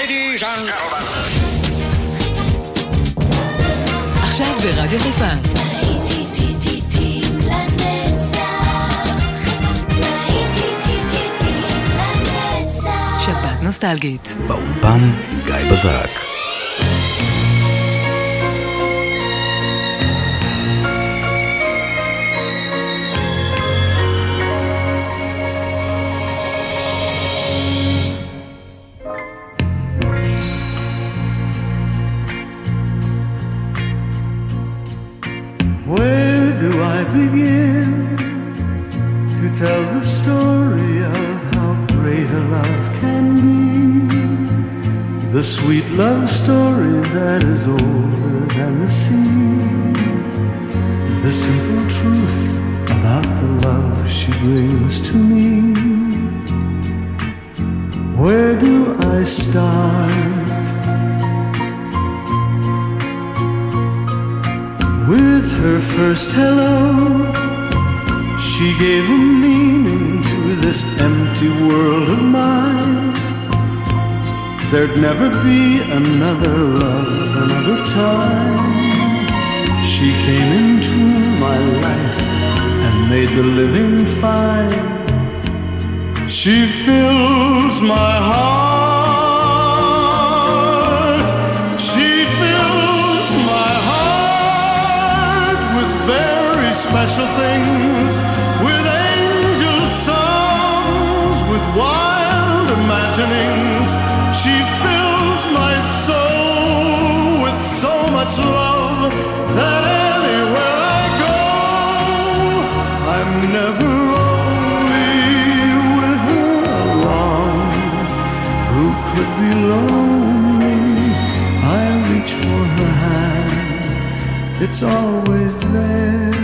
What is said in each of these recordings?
Ladies and gentlemen. עכשיו ברדיו חיפה. שבת נוסטלגית. באולפן גיא בזק. Where do I begin to tell the story of how great a love can be? The sweet love story that is older than the sea. The simple truth about the love she brings to me. Where do I start? With her first hello, she gave a meaning to this empty world of mine. There'd never be another love, another time. She came into my life and made the living fine. She fills my heart. She fills my heart with very special things, with angel songs, with wild imaginings. She fills my soul with so much love that anywhere I go, I'm never lonely with her along. Who could be lonely? I reach for her hand, it's always there.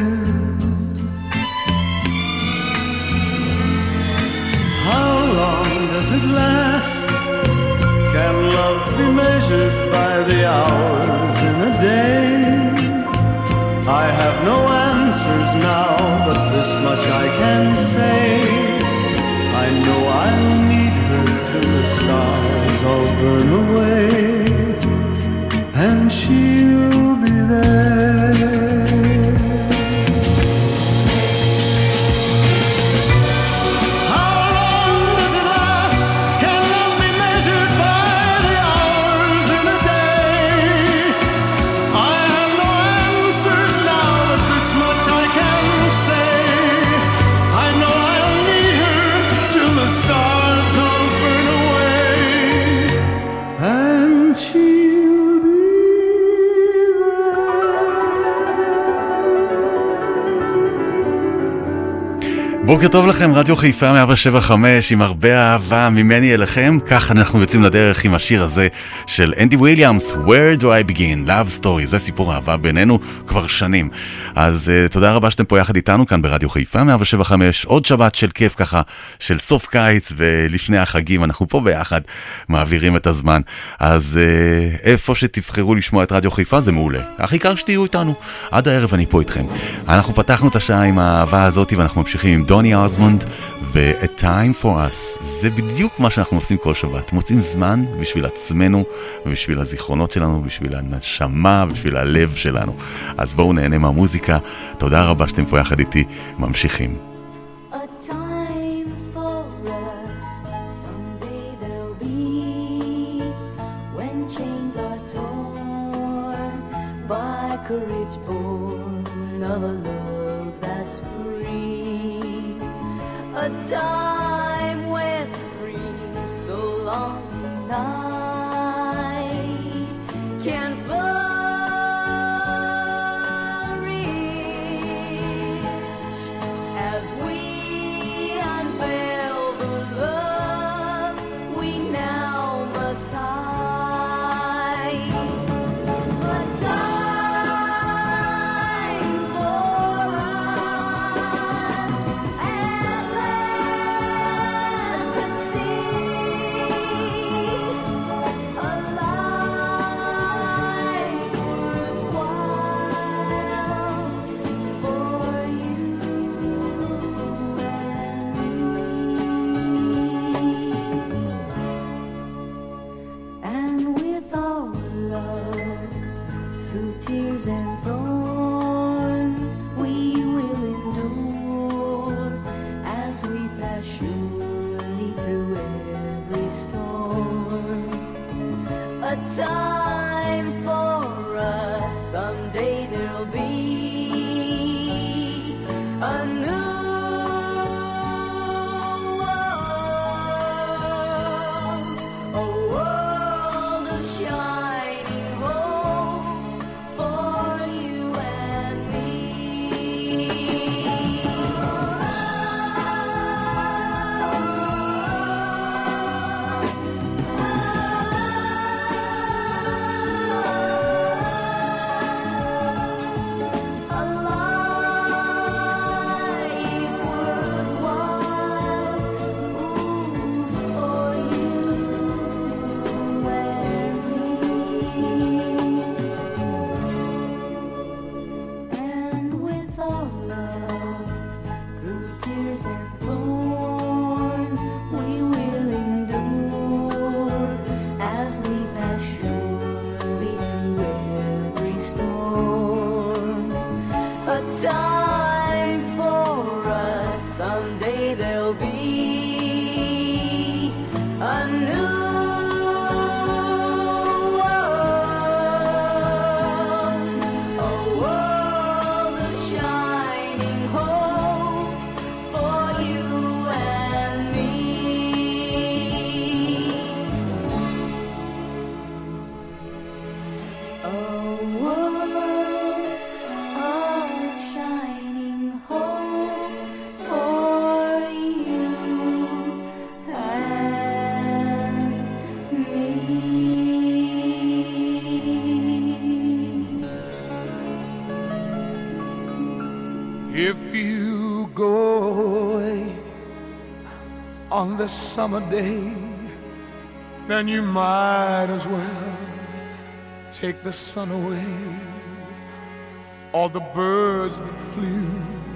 How long does it last? Can love be measured by the hours in a day? I have no answers now, but this much I can say. I know I'll need her till the stars all burn away, and she'll be there. בוקר טוב לכם, רדיו חיפה 175 עם הרבה אהבה ממני אליכם. כך אנחנו יוצאים לדרך עם השיר הזה של אנדי וויליאמס, Where do I begin? Love Story. זה סיפור אהבה בינינו כבר שנים. אז תודה רבה שאתם פה יחד איתנו כאן ברדיו חיפה 175. עוד שבת של כיף ככה, של סוף קיץ ולפני החגים. אנחנו פה ביחד מעבירים את הזמן. אז איפה שתבחרו לשמוע את רדיו חיפה זה מעולה. הכי עיקר שתהיו איתנו. עד הערב אני פה איתכם. אנחנו פתחנו את השעה עם האהבה הזאת ואנחנו ממשיכים עם דוני אוזמונד ו-A Time for Us. זה בדיוק מה שאנחנו עושים כל שבת. מוצאים זמן בשביל עצמנו ובשביל הזיכרונות שלנו, בשביל הנשמה, בשביל הלב שלנו. אז בואו נהנה מהמוזיקה. תודה רבה שאתם פה יחד איתי. ממשיכים. A time when dreams so long denied can flourish as we unveil the love we now must hide. A time for us at last to see tears and thorns we will endure as we pass surely through every storm. A time for us, someday there'll be a new If you go away on this summer day, then you might as well take the sun away. All the birds that flew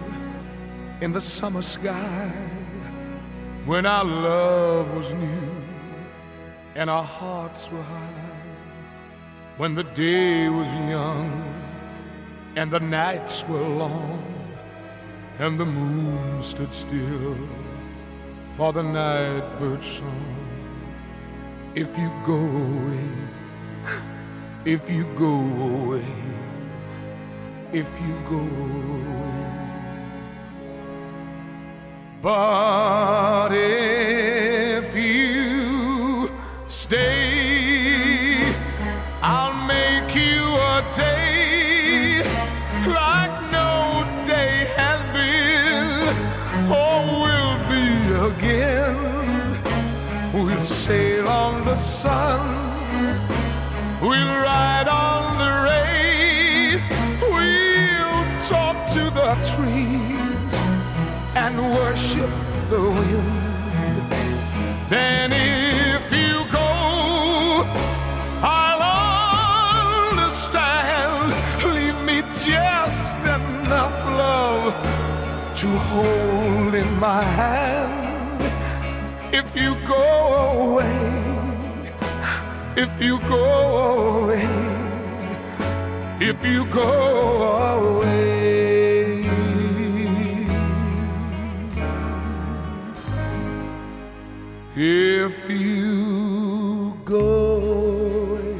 in the summer sky when our love was new and our hearts were high, when the day was young and the nights were long and the moon stood still for the night bird song. If you go away, if you go away, if you go away. But if you stay, I'll make you a day like no day has been or will be again. We'll sail on the sun, we'll ride on the rain, we'll talk to the trees and worship the wind. Then if you go, I'll understand. Leave me just enough love to hold in my hand. If you go away, if you go away, if you go away. If you go away,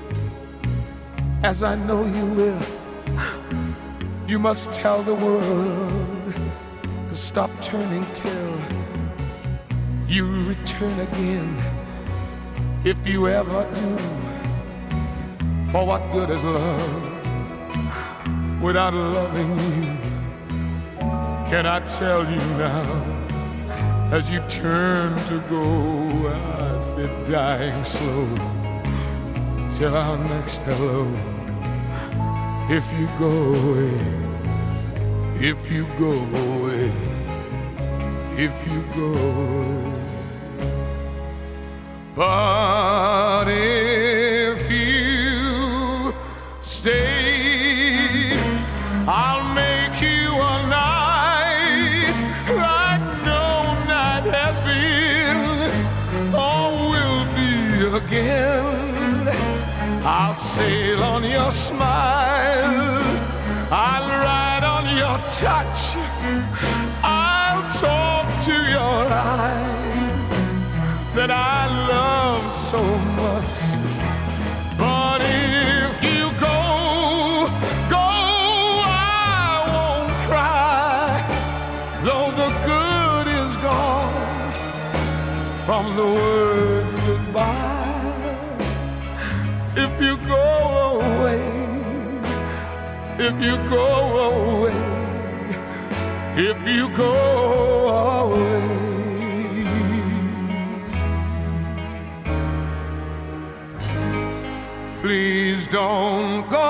as I know you will, you must tell the world to stop turning till you return again. If you ever do, for what good is love without loving you? Can I tell you now, as you turn to go, I'd be dying slow till our next hello. If you go away, if you go away, if you go away. But if you stay, I'll make you a night like no night has been or will be again. I'll sail on your smile, I'll ride on your touch, I'll talk to your eyes that I love so much. But if you go, I won't cry, though the good is gone from the word goodbye. If you go away, if you go away, if you go away. Please don't go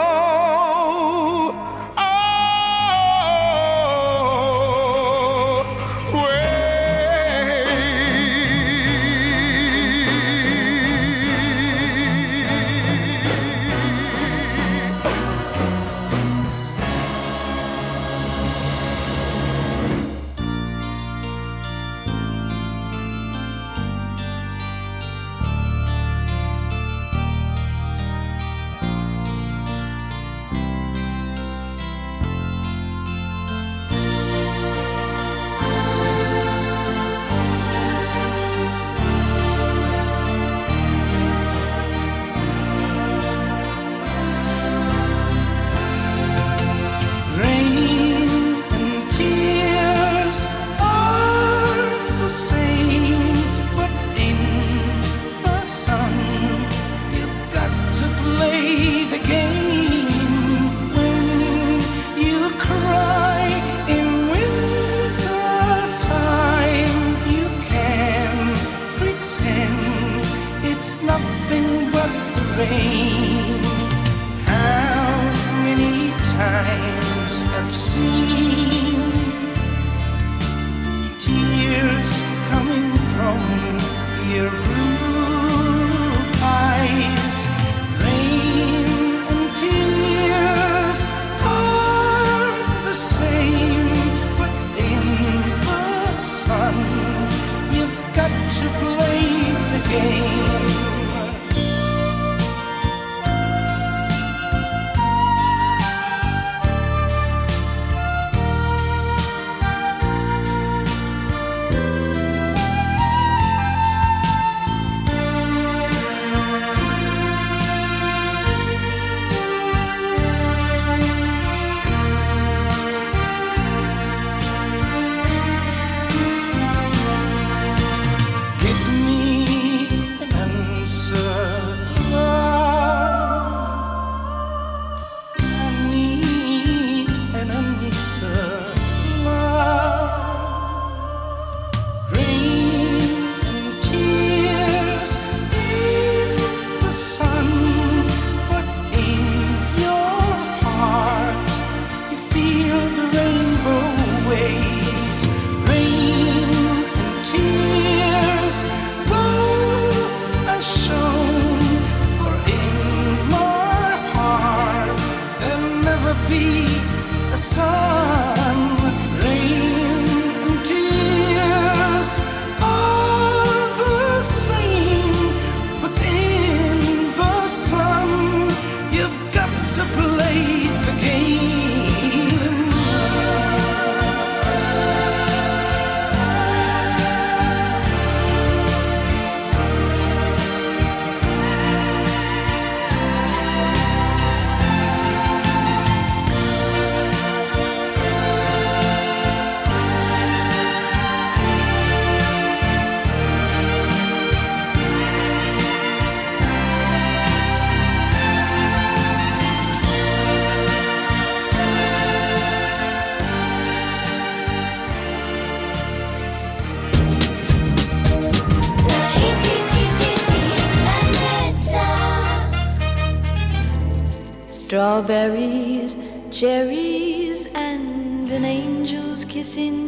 strawberries, cherries, and an angel's kiss in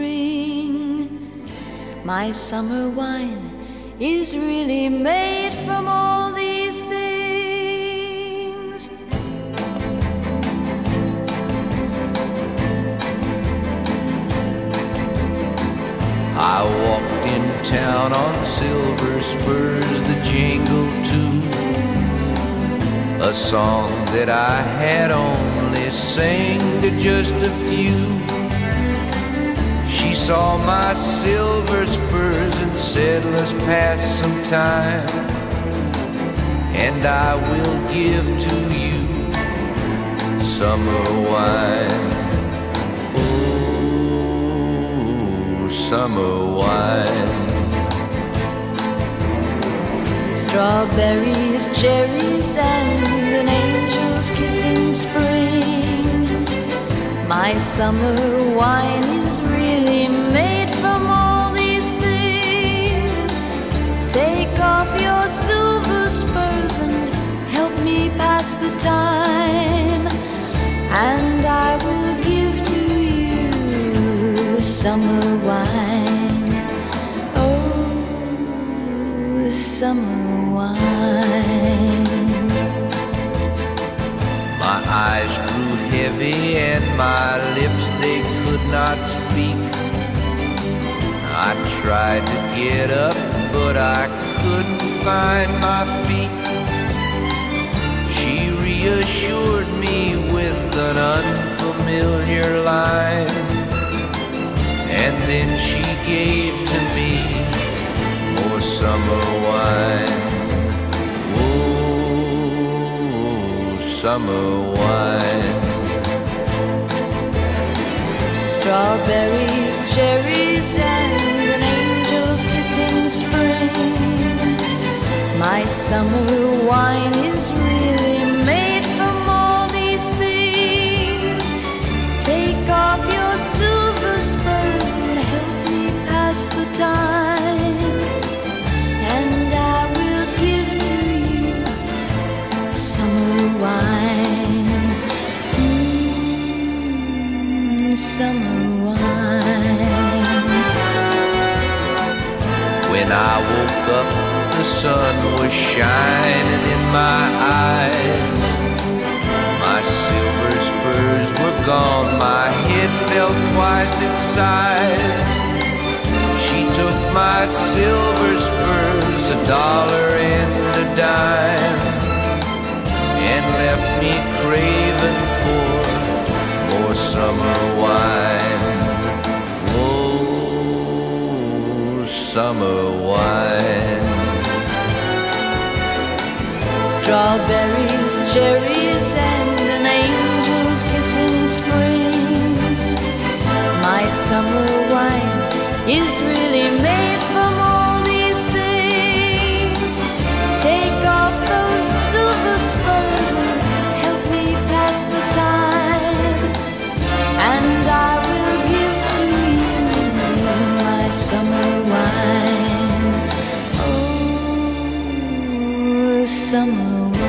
spring. My summer wine is really made from all these things. I walked in town on silver spurs that jingle too. a song that I had only sang to just a few. She saw my silver spurs and said, let's pass some time, and I will give to you summer wine. Oh, summer wine. Strawberries, cherries, and an angel's kiss in spring. My summer wine is really made from all these things. Take off your silver spurs and help me pass the time, and I will give to you summer wine. Oh, summer wine. My eyes grew heavy and my lips, they could not speak. I tried to get up, but I couldn't find my feet. She reassured me with an unfamiliar line, and then she gave to me more summer wine. Oh, summer wine. Strawberries, cherries, and an angel's kiss in spring. My summer wine is really made from all these things. Take off your silver spurs and help me pass the time, and I will give to you summer wine. Summer wine. When I woke up, the sun was shining in my eyes. My silver spurs were gone, my head fell twice its size. She took my silver spurs, $1 and a dime, and left me craving for more summer wine. Oh, summer wine. Strawberries, cherries, and an angel's kiss in spring. My summer wine is really made from all these things. Take off those silver spurs and help me pass the time, and I will give to you my summer wine. Oh, summer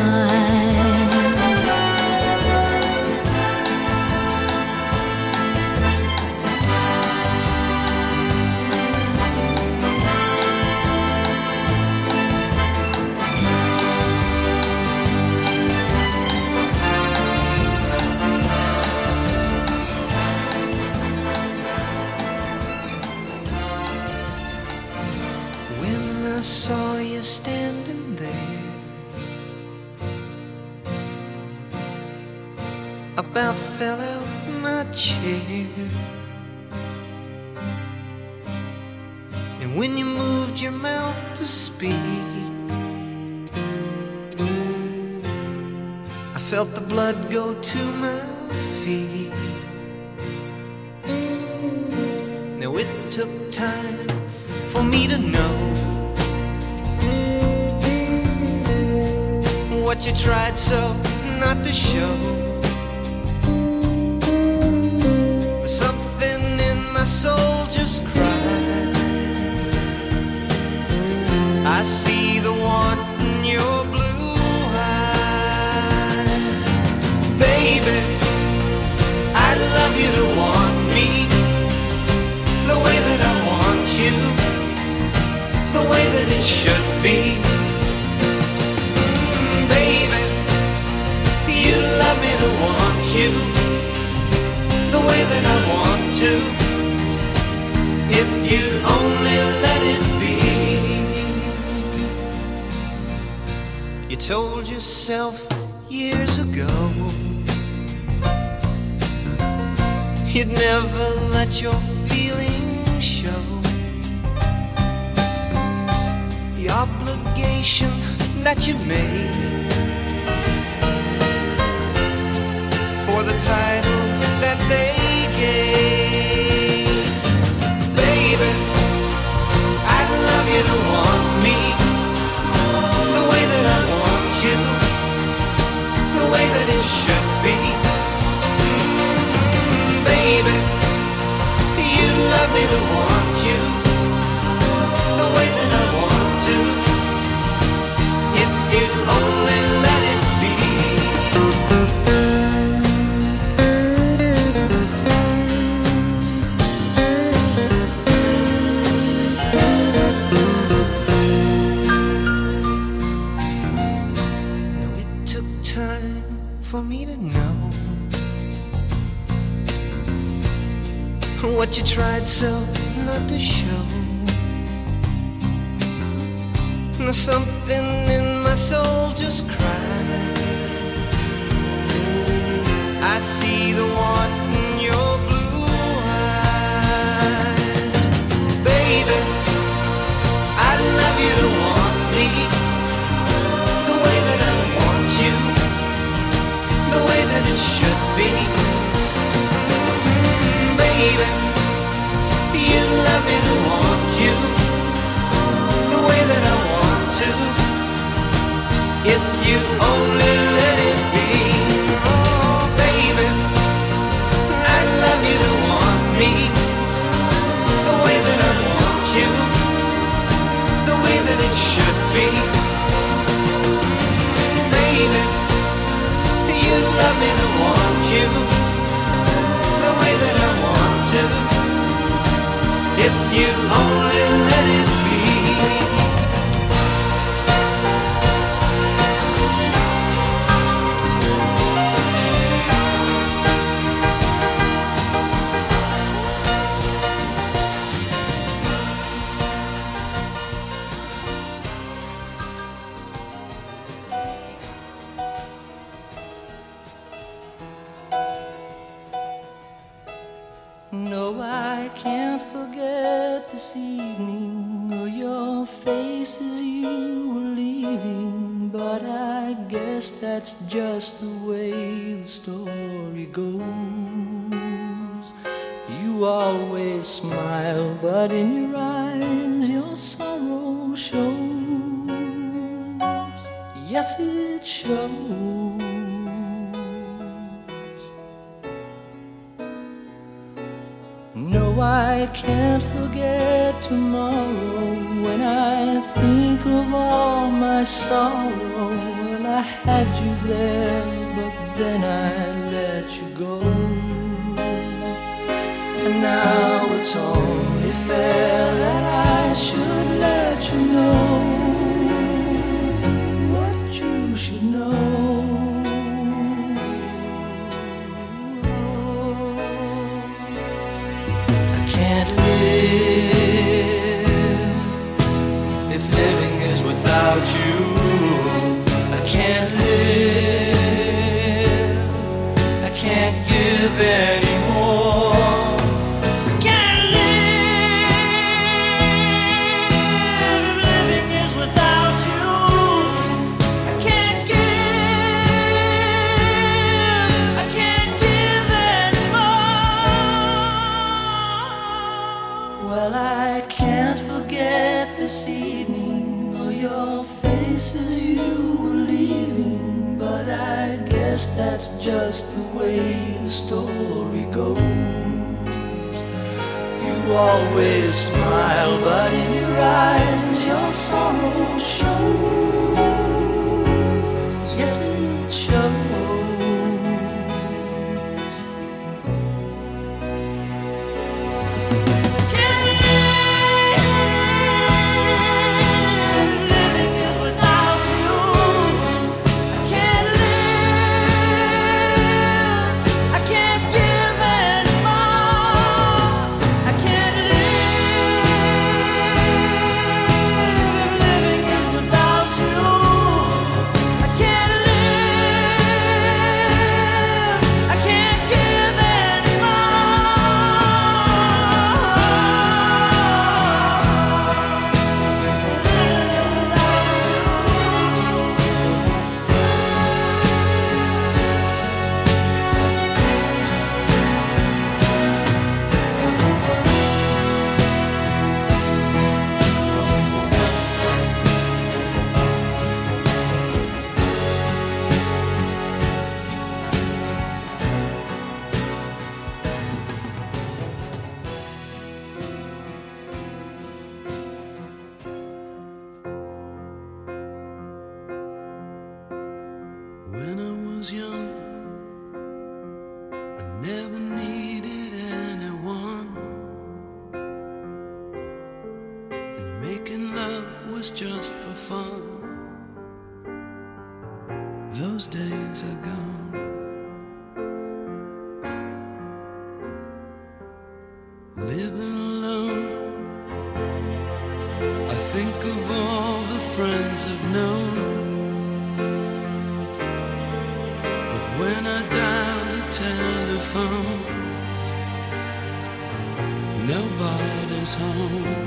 about fell out my chair. And when you moved your mouth to speak, I felt the blood go to my feet. Now it took time for me to know what you tried so not to show. Something in my soul just cried. I see the want in your blue eyes. Baby, I'd love you to want me the way that I want you, the way that it should be. Baby, you love me to want you the way that I want to, if you only let it be. You told yourself years ago. You'd never let your feelings show. The obligation that you made for the title that they gave. Baby, I'd love you to want me the way that I want you, the way that it should be. Baby, you'd love me to want you the way that I want to, if you'd only let it be. Now it took time for me to know what you tried so not to show. Now something in my soul just cried. I see the want in your blue eyes. Baby, I'd love you to want me the way that I want you, the way that it should be. Baby, you'd love me to want you the way that I want to, if you only let it be. Oh, baby, I'd love you to want me the way that I want you, the way that it should be. Baby, you'd love me to want you the way that I want to, if you only let it be. No, I can't forget this evening or your face as you were leaving, but I guess that's just the way the story goes. You always smile, but in your eyes your sorrow shows. Yes, it shows. No, I can't forget tomorrow when I think of all my sorrow. Well, I had you there, but then I let you go. And now it's only fair that I should let you know what you should know. Can't live if living is without you. I can't live, I can't give anymore. I can't live if living is without you. I can't give, I can't give anymore. Well, I can't forget this evening or your face as you were leaving, but I guess that's just the way the story goes. You always smile, but in your eyes your sorrow shows. Yes, it shows. Without you When I was young, I never needed anyone, and making love was just for fun. Those days are gone. Living alone, I think of all the friends I've known, but when I dial the telephone, nobody's home.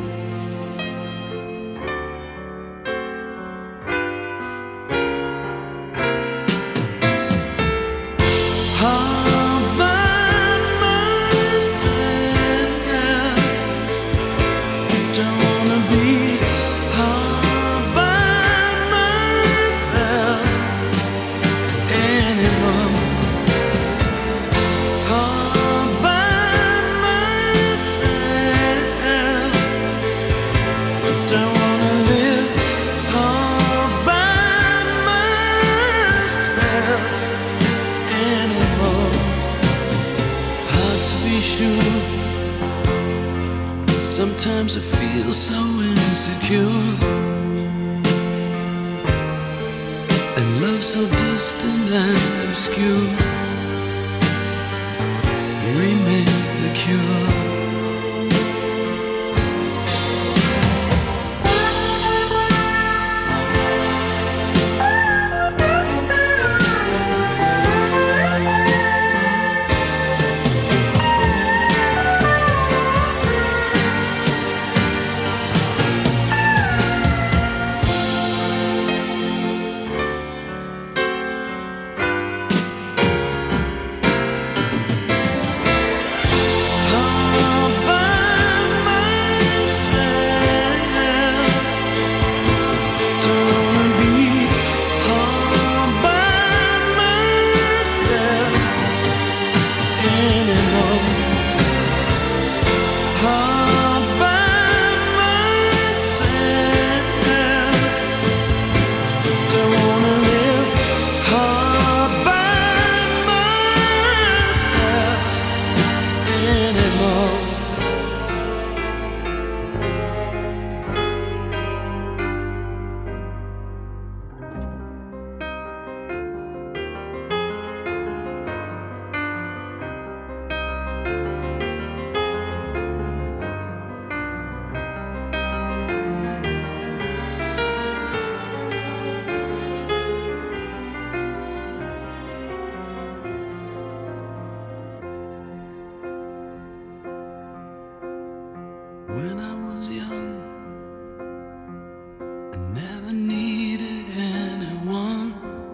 Sometimes I feel so insecure, and love so distant and obscure remains the cure. When I was young, I never needed anyone,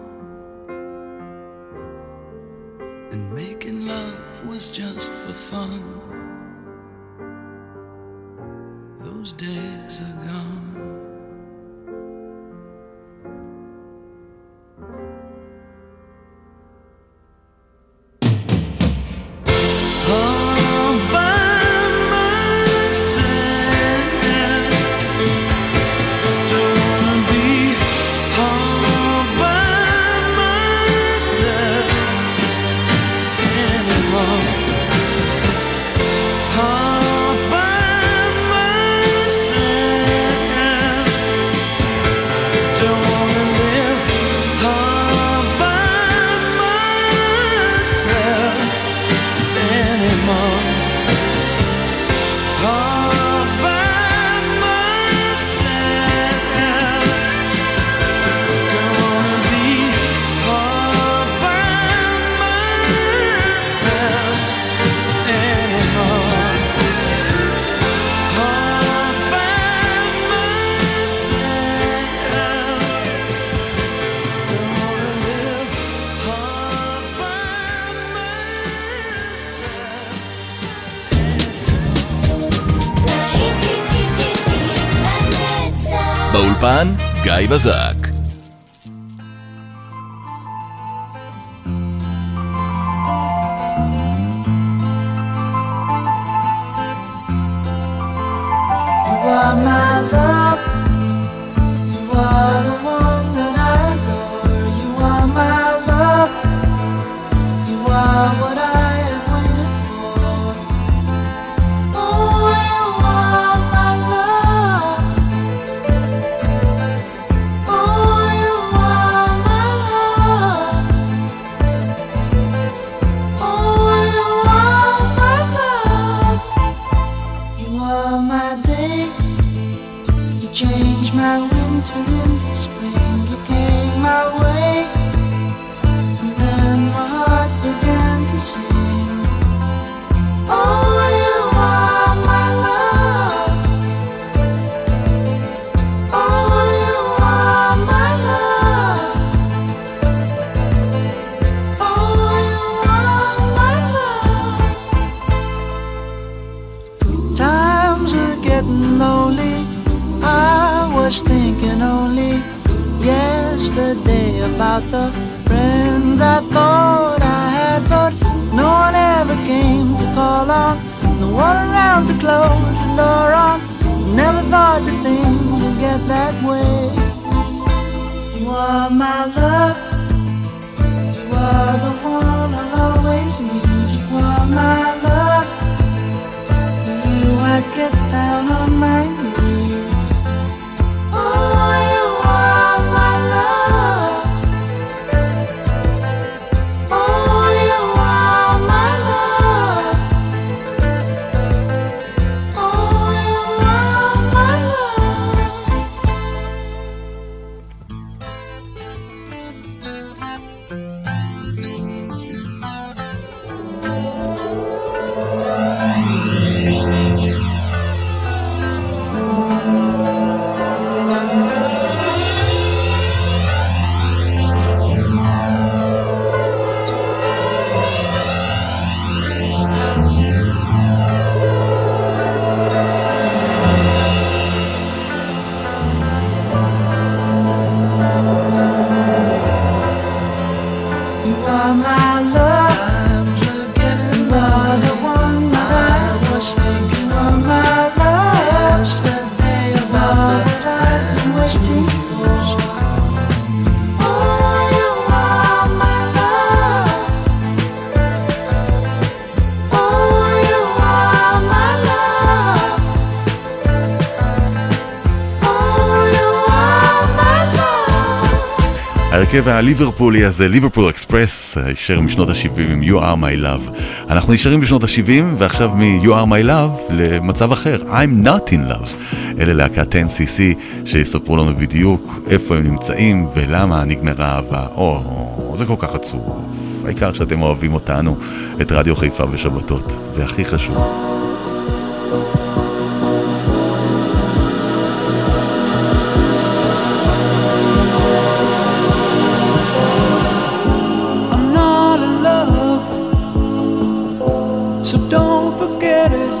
and making love was just for fun. Those days are gone. באולפן גיא בזק. You are my love, you are the one that I adore. You are my love. about the friends I thought I had, but no one ever came to call on. No one around to close the door on. Never thought that things would get that way. You are my love. You are the one I'll always need. You are my love. For you I'd get down on my knees. Oh, you are my love. Oh, you are my love. Oh, you are my love. You are my love. Times were getting low. The one that I was thinking of, my love. Yesterday about it I've been waiting for. Oh, you are my love. Oh, you are my love. Oh, you are my love. ההרכב הליברפולי הזה, ליברפול אקספרס, הישר משנות ה-70 עם You are my love. אנחנו נשארים בשנות ה-70, ועכשיו מ-You are my love למצב אחר, I'm not in love. אלה להקת 10cc שיספרו לנו בדיוק איפה הם נמצאים ולמה נגמרה אהבה. זה כל כך עצוב. העיקר שאתם אוהבים אותנו, את רדיו חיפה בשבתות. זה הכי חשוב. So don't forget it.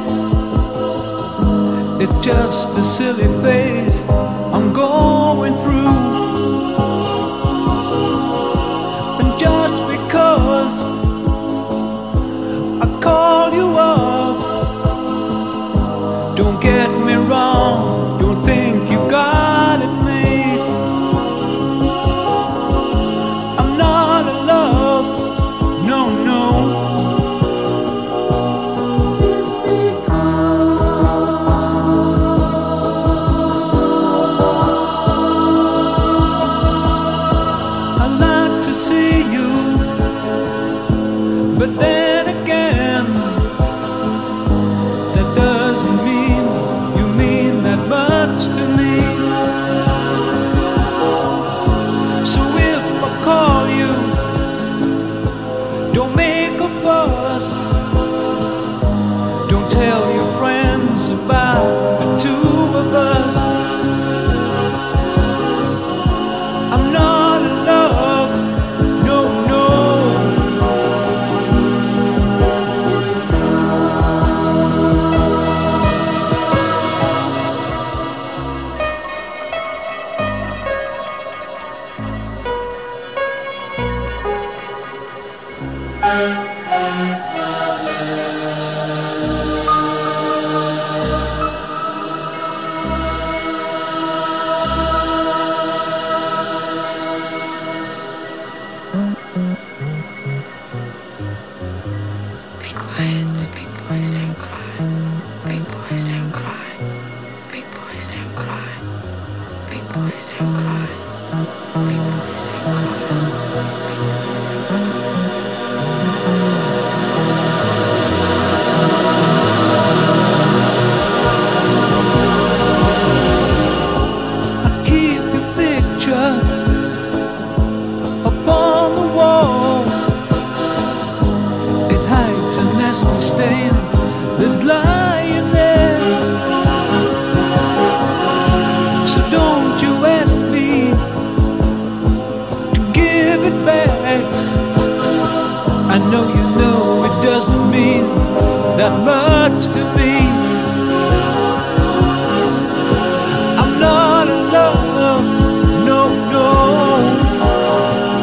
It's just a silly phase I'm going through. And just because I call you up, don't get me wrong, don't think you got it made. I'm not in love, no, no. It's I like to see you, but then again, that doesn't mean you mean that much to me. So if I call you, don't make a fuss. Don't tell your friends about the two of us. I'm not in love, no, no. Let's be Be quiet, big boys don't cry. Big boys don't cry. Big boys don't cry. Big boys don't cry. Big boys don't cry. I keep your picture upon the wall. It hides a nasty stain that's lying there. So don't you ask me to give it back. I know you know it doesn't mean that much to me. I'm not in love, no, no.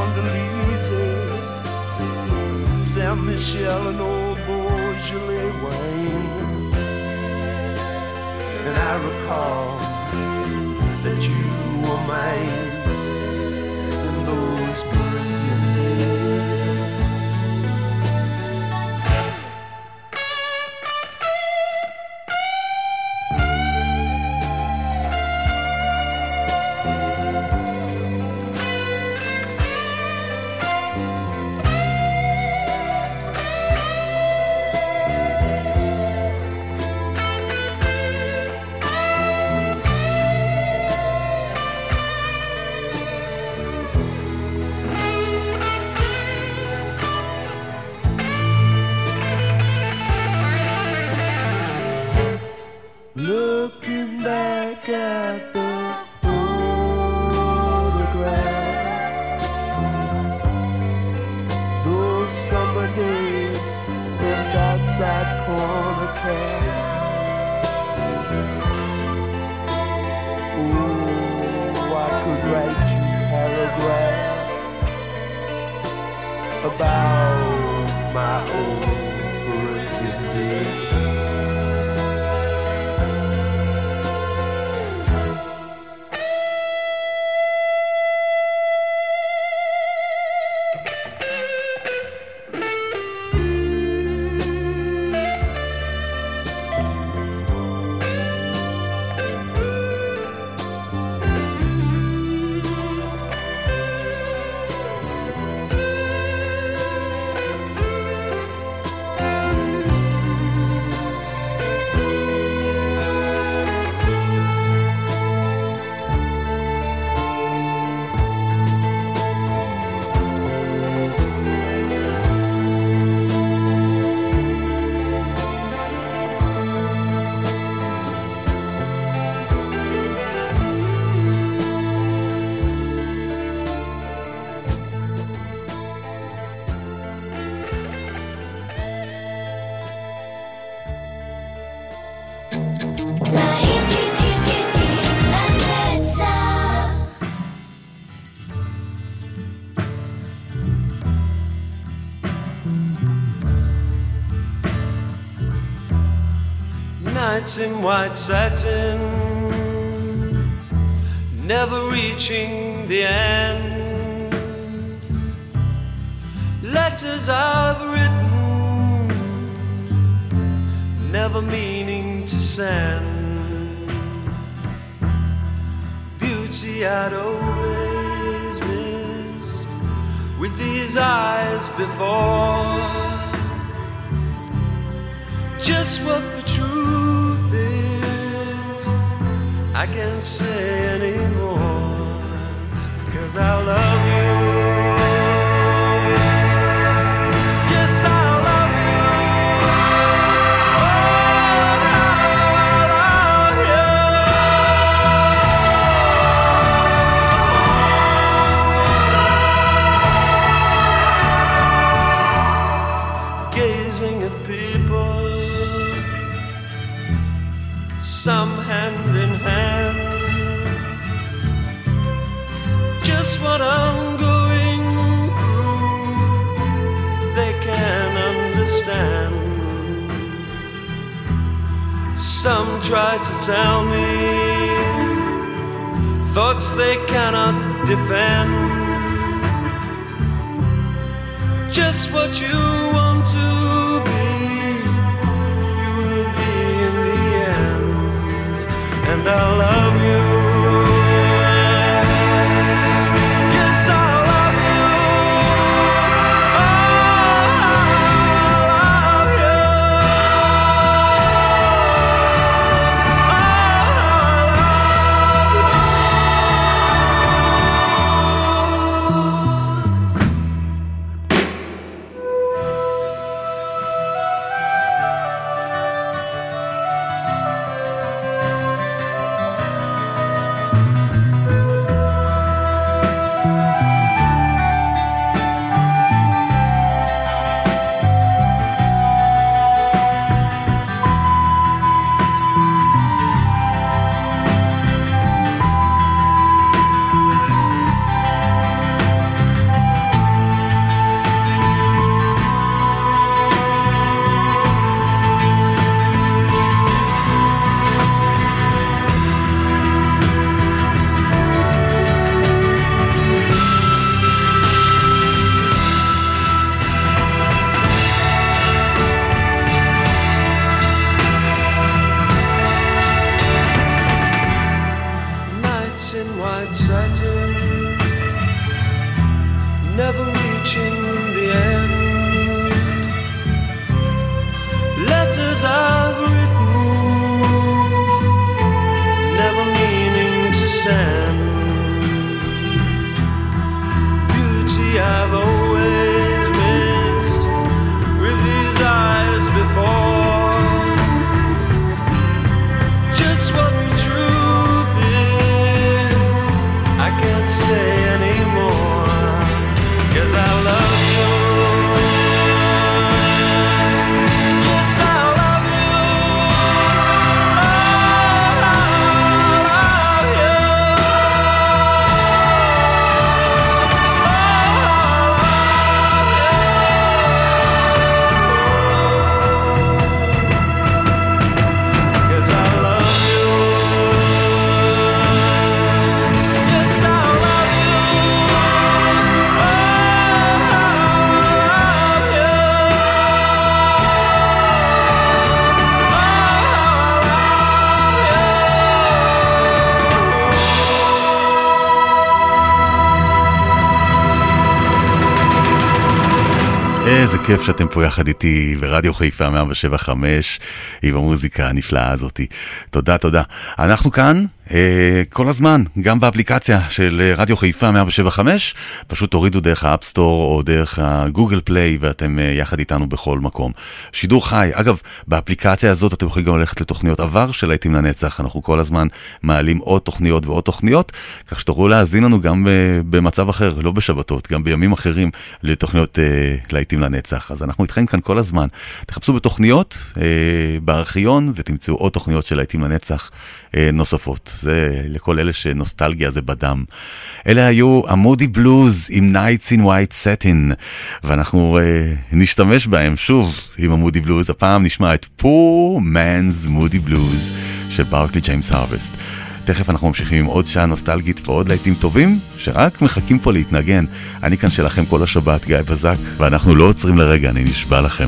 Condoleezza, Saint Michel and old Beaujolais wine. And I recall that you were mine in those Parisian days. Looking back at the photographs, those summer days spent outside corner cabs. Oh, I could write you paragraphs about my old Parisian days. Nights in white satin, never reaching the end. Letters I've written, never meaning to send. Beauty I'd always missed with these eyes before. Just what the truth is, I can't say anymore, 'cause I love you. Yes, I love you. Oh, I love you. Gazing at people, some hand in hand, just what I'm going through, they can understand. Some try to tell me thoughts they cannot defend. Just what you want to be, you will be in the end. And I love you. Yes, I love you. Oh, I love you. Oh, I love you. never reaching the end. Letters I've written, never meaning to send. Beauty I've always missed with these eyes before. Just what the truth is, I can't say anymore, 'cause I love you. Yes, I love you. Oh, I love you. איזה כיף שאתם פה יחד איתי ברדיו חיפה 107.5 עם המוזיקה הנפלאה הזאת. תודה, תודה. אנחנו כאן כל הזמן, גם באפליקציה של רדיו חיפה 107.5, פשוט תורידו דרך האפסטור או דרך הגוגל פליי ואתם יחד איתנו בכל מקום. שידור חי, אגב, באפליקציה הזאת אתם יכולים גם ללכת לתוכניות עבר של להיטים לנצח, אנחנו כל הזמן מעלים עוד תוכניות ועוד תוכניות, כך שתוכלו להזין לנו גם במצב אחר, לא בשבתות, גם בימים אחרים לתוכניות להיטים לנצח. אז אנחנו איתכם כאן כל הזמן. תחפשו בתוכניות בארכיון ותמצאו עוד תוכניות של להיטים לנצח נוספות. זה לכל אלה שנוסטלגיה זה בדם. אלה היו המודי בלוז עם Nights in White Satin, ואנחנו נשתמש בהם שוב עם המודי בלוז. הפעם נשמע את Poor Man's Moody Blues של ברקלי ג'יימס הרווסט. תכף אנחנו ממשיכים עם עוד שעה נוסטלגית ועוד להיטים טובים שרק מחכים פה להתנגן. אני כאן שלכם כל השבת, גיא בזק, ואנחנו לא עוצרים לרגע, אני נשבע לכם.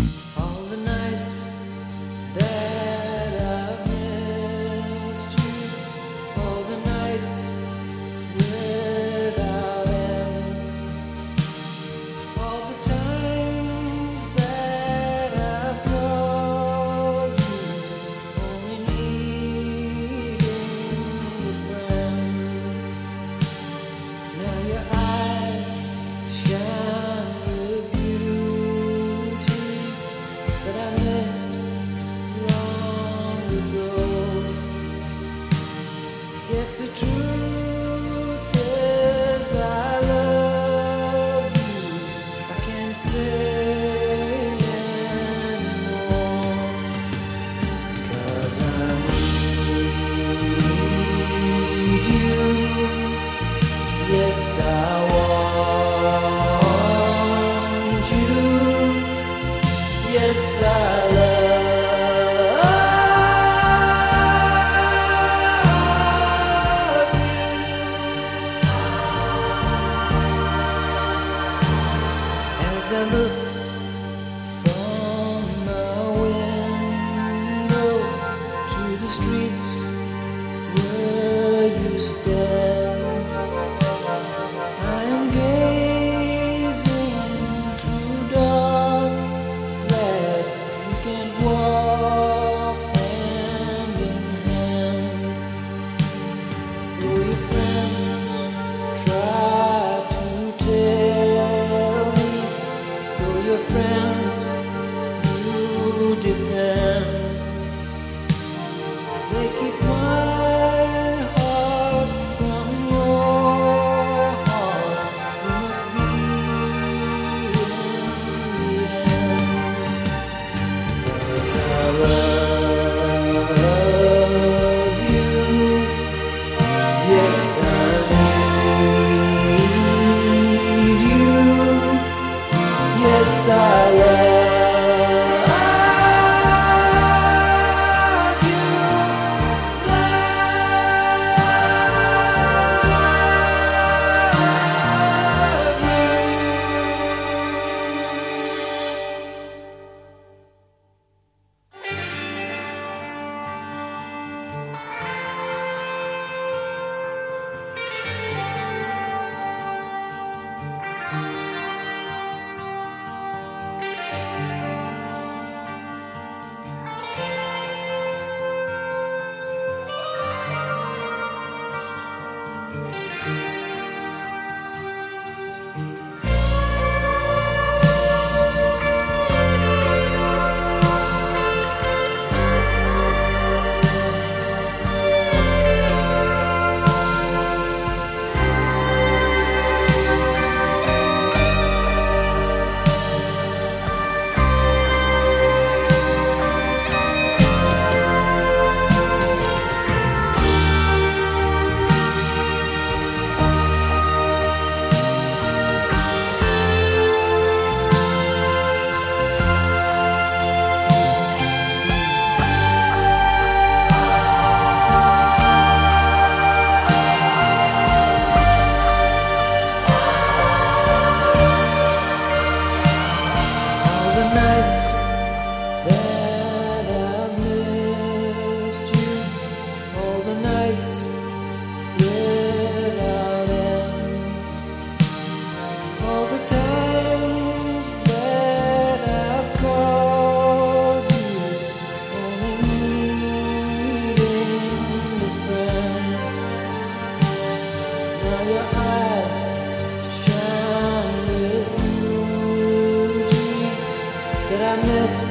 missed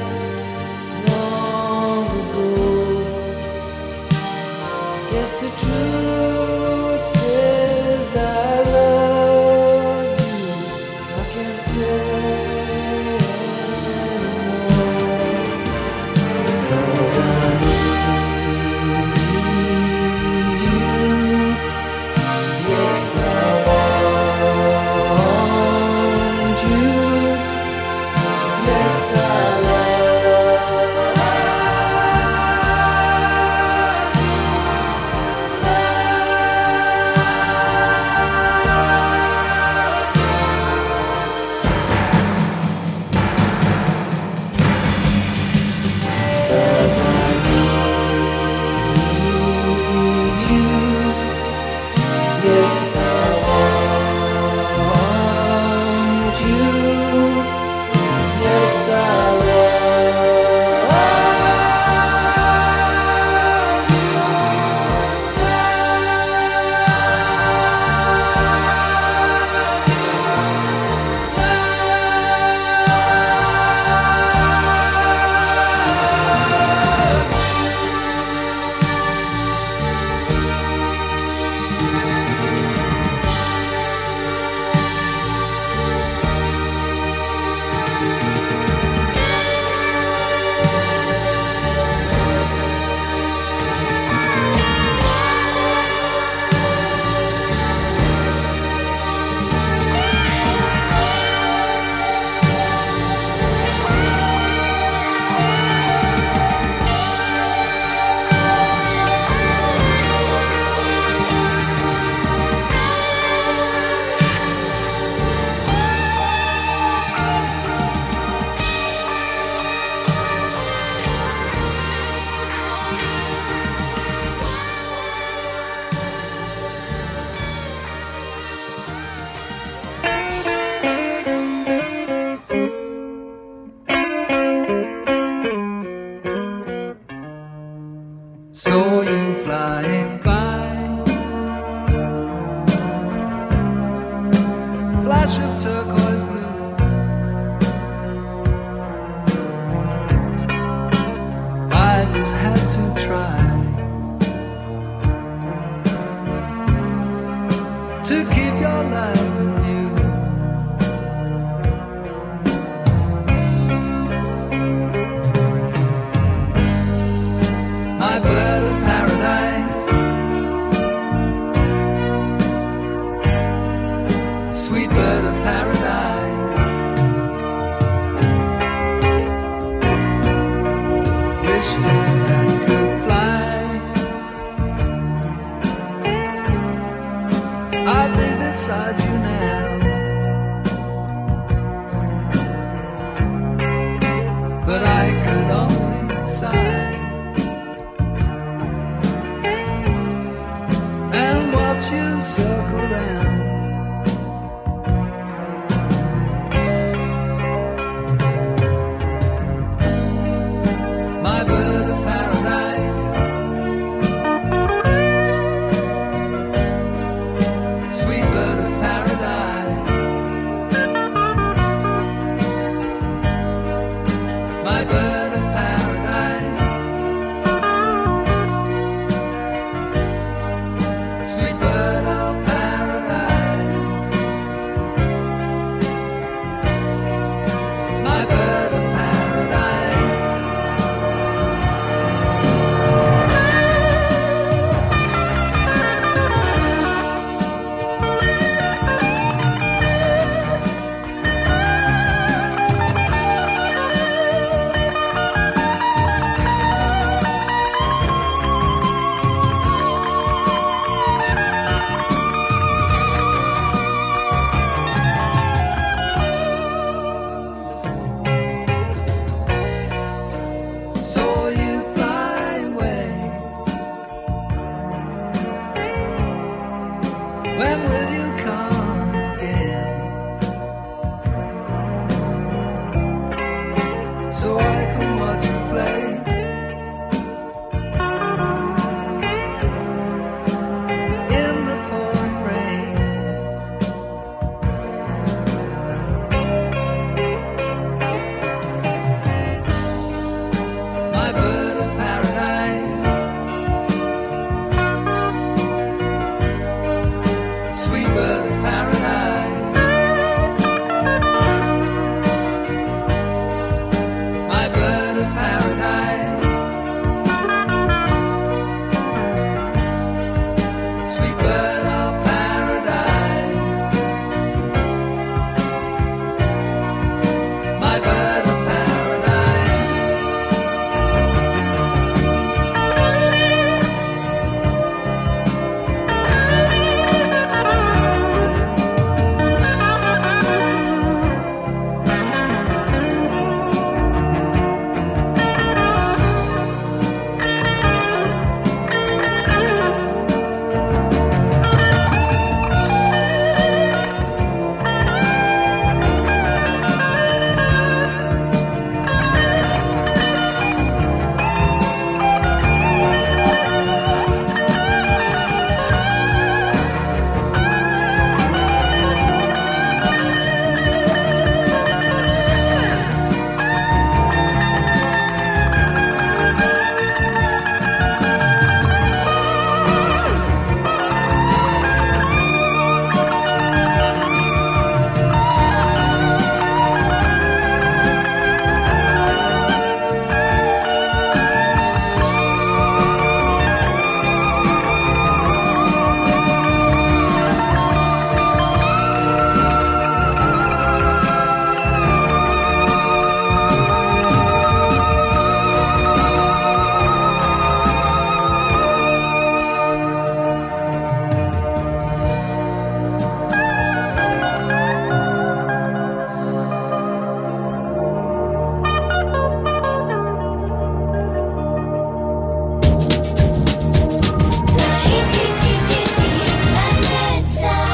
long ago. Guess the truth is I love you. I can't say anymore, 'cause I need you. Yes, I want you. Yes, I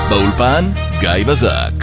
באולפן גיא בזק.